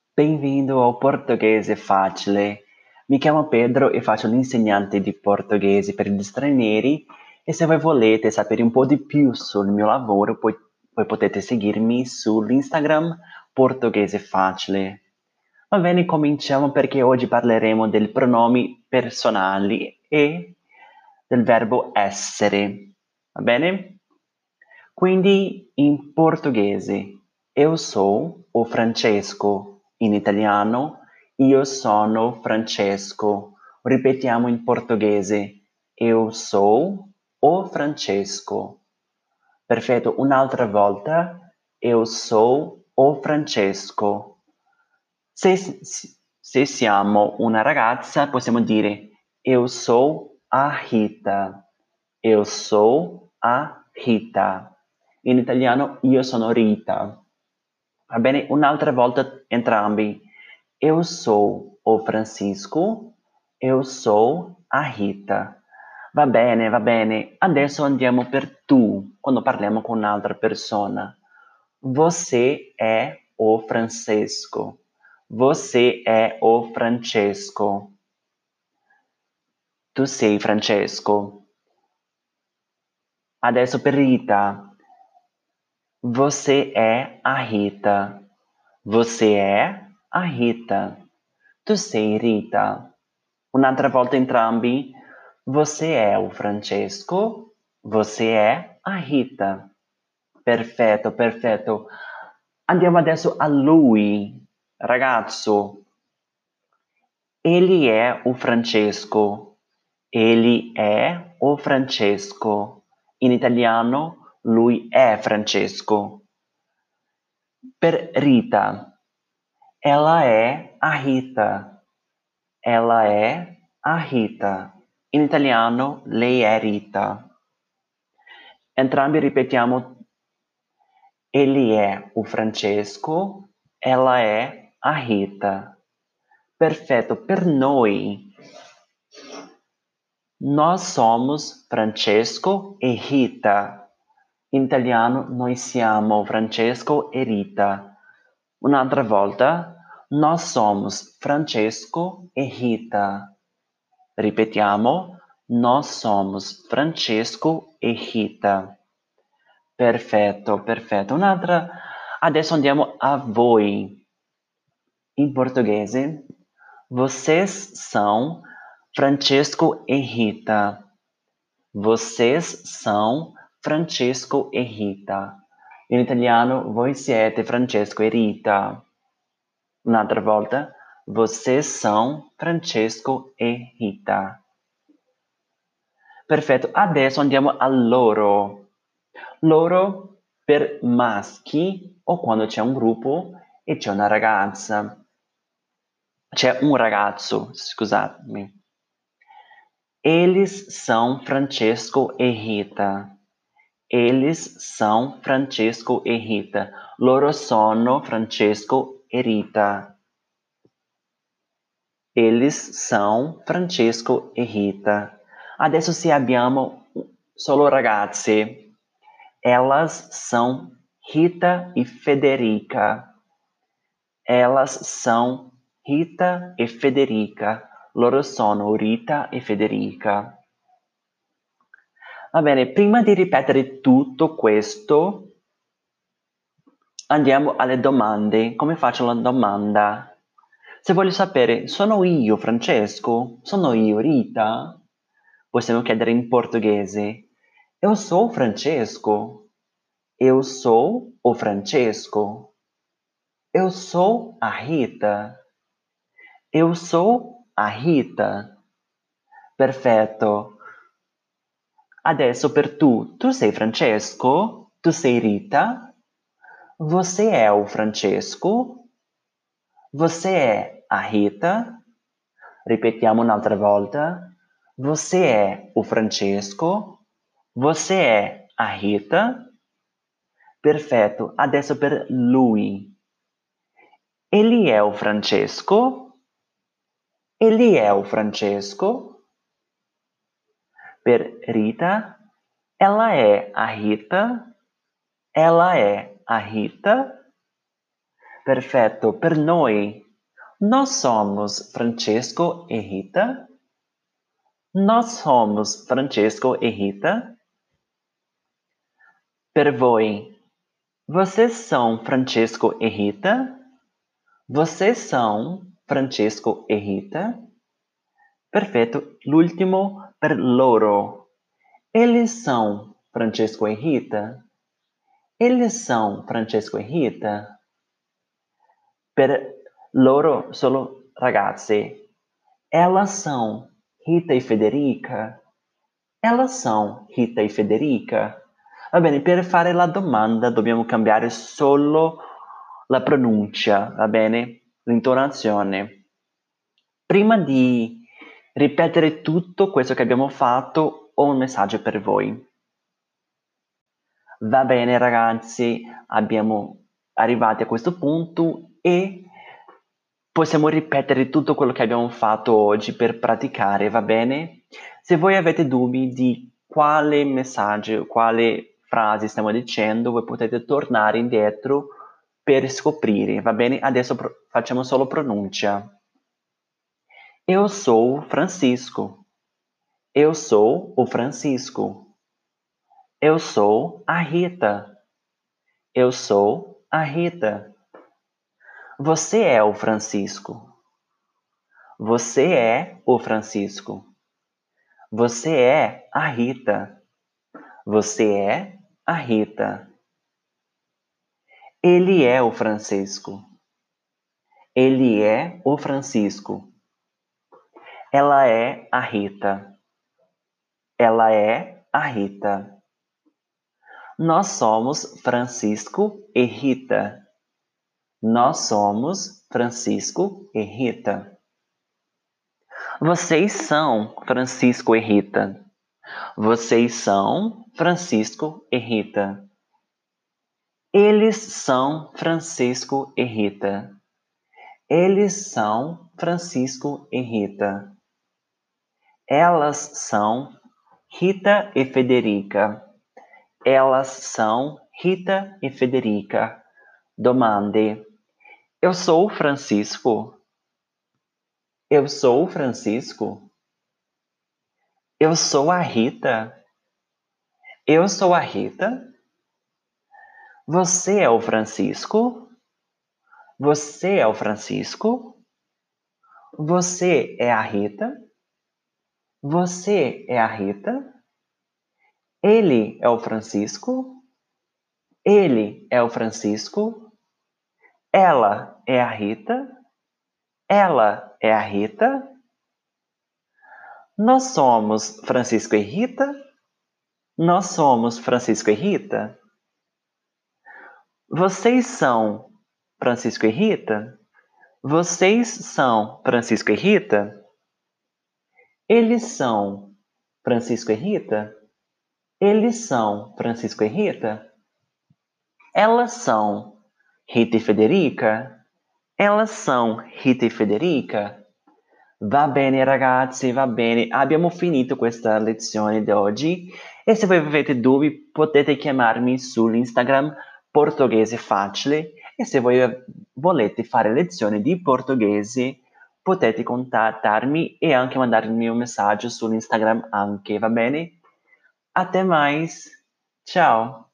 Benvenuto ao Portoghese Facile. Mi chiamo Pedro e faccio l'insegnante di portoghese per gli stranieri e se voi volete sapere un po' di più sul mio lavoro, poi potete seguirmi sull'Instagram Portoghese Facile. Va bene, cominciamo perché oggi parleremo dei pronomi personali e del verbo essere. Va bene? Quindi in portoghese eu sou o Francesco, in italiano io sono Francesco. Ripetiamo in portoghese eu sou o Francesco. Perfetto, un'altra volta eu sou o Francesco. Se siamo una ragazza possiamo dire eu sou a Rita. Eu sou a Rita. In italiano io sono Rita. Va bene? Un'altra volta entrambi. Eu sou o Francisco. Eu sou a Rita. Va bene, va bene. Adesso andiamo per tu, quando parliamo con un'altra persona. Você é o Francesco. Você é o Francesco. Tu sei Francesco. Adesso per Rita. Você é a Rita. Você é a Rita. Tu sei Rita. Un'altra volta entrambi. Você é o Francesco. Você é a Rita. Perfetto, perfetto. Andiamo adesso a lui, ragazzo. Ele é o Francesco. Ele é o Francesco. In italiano, lui è Francesco. Per Rita. Ela é a Rita. Ela é a Rita. In italiano, lei è Rita. Entrambi ripetiamo. Ele é o Francesco. Ela é a Rita. Perfetto, per noi. Nós somos Francesco e Rita. In italiano noi siamo Francesco e Rita. Un'altra volta. Nós somos Francesco e Rita. Ripetiamo. Nós somos Francesco e Rita. Perfetto, perfetto. Un'altra. Adesso andiamo a voi. In portoghese, vocês são Francesco e Rita. Vocês são Francesco e Rita. In italiano, voi siete Francesco e Rita. Un'altra volta, vocês são Francesco e Rita. Perfetto, adesso andiamo a loro. Loro per maschi o quando c'è un gruppo e c'è una ragazza. C'è un ragazzo, scusatemi. Eles são Francesco e Rita. Eles são Francesco e Rita. Loro sono Francesco e Rita. Eles são Francesco e Rita. Adesso se abbiamo solo ragazze. Elas são Rita e Federica. Elas são Rita e Federica. Loro sono Rita e Federica. Va bene, prima di ripetere tutto questo, andiamo alle domande. Come faccio la domanda? Se voglio sapere, sono io Francesco? Sono io Rita? Possiamo chiedere in portoghese. Eu sou Francesco. Eu sou o Francesco. Eu sou a Rita. Eu sou a Rita. Perfetto. Adesso per tu. Tu sei Francesco? Tu sei Rita? Você é o Francesco? Você é a Rita? Ripetiamo un'altra volta. Você é o Francesco? Você é a Rita? Perfetto. Adesso per lui. Ele é o Francesco? Ele é o Francesco? Per Rita. Ela é a Rita? Ela é a Rita? Perfetto, per noi. Nós somos Francesco e Rita. Nós somos Francesco e Rita. Per voi. Vocês são Francesco e Rita? Vocês são Francesco e Rita? Perfetto. L'ultimo per loro. Eles são Francesco e Rita? Eles são Francesco e Rita? Per loro solo ragazze. Elas são Rita e Federica? Elas são Rita e Federica? Va bene, per fare la domanda dobbiamo cambiare solo la pronuncia, va bene? L'intonazione. Prima di ripetere tutto questo che abbiamo fatto, ho un messaggio per voi. Va bene ragazzi, abbiamo arrivati a questo punto e possiamo ripetere tutto quello che abbiamo fatto oggi per praticare, va bene? Se voi avete dubbi di quale messaggio, quale frase stiamo dicendo, voi potete tornare indietro per scoprire, va bene? Adesso facciamo solo pronuncia. Eu sou Francisco. Eu sou o Francisco. Eu sou a Rita. Eu sou a Rita. Você é o Francisco. Você é o Francisco. Você é a Rita. Você é a Rita. Ele é o Francisco. Ele é o Francisco. Ela é a Rita. Ela é a Rita. Nós somos Francisco e Rita. Nós somos Francisco e Rita. Vocês são Francisco e Rita. Vocês são Francisco e Rita. Eles são Francisco e Rita. Eles são Francisco e Rita. Elas são Rita e Federica. Elas são Rita e Federica. Domande. Eu sou Francisco. Eu sou Francisco. Eu sou a Rita. Eu sou a Rita. Você é o Francisco? Você é o Francisco? Você é a Rita? Você é a Rita? Ele é o Francisco? Ele é o Francisco? Ela é a Rita? Ela é a Rita? Nós somos Francisco e Rita? Nós somos Francisco e Rita? Vocês são Francisco e Rita? Vocês são Francisco e Rita? Eles são Francisco e Rita? Eles são Francisco e Rita? Elas são Rita e Federica? Elas são Rita e Federica? Va bene ragazzi, va bene. Abbiamo finito questa lezione di oggi e se voi avete dubbi potete chiamarmi sull'Instagram Portoghese Facile e se voi volete fare lezioni di portoghese potete contattarmi e anche mandarmi un messaggio sull'Instagram anche, va bene? Até mais. Ciao.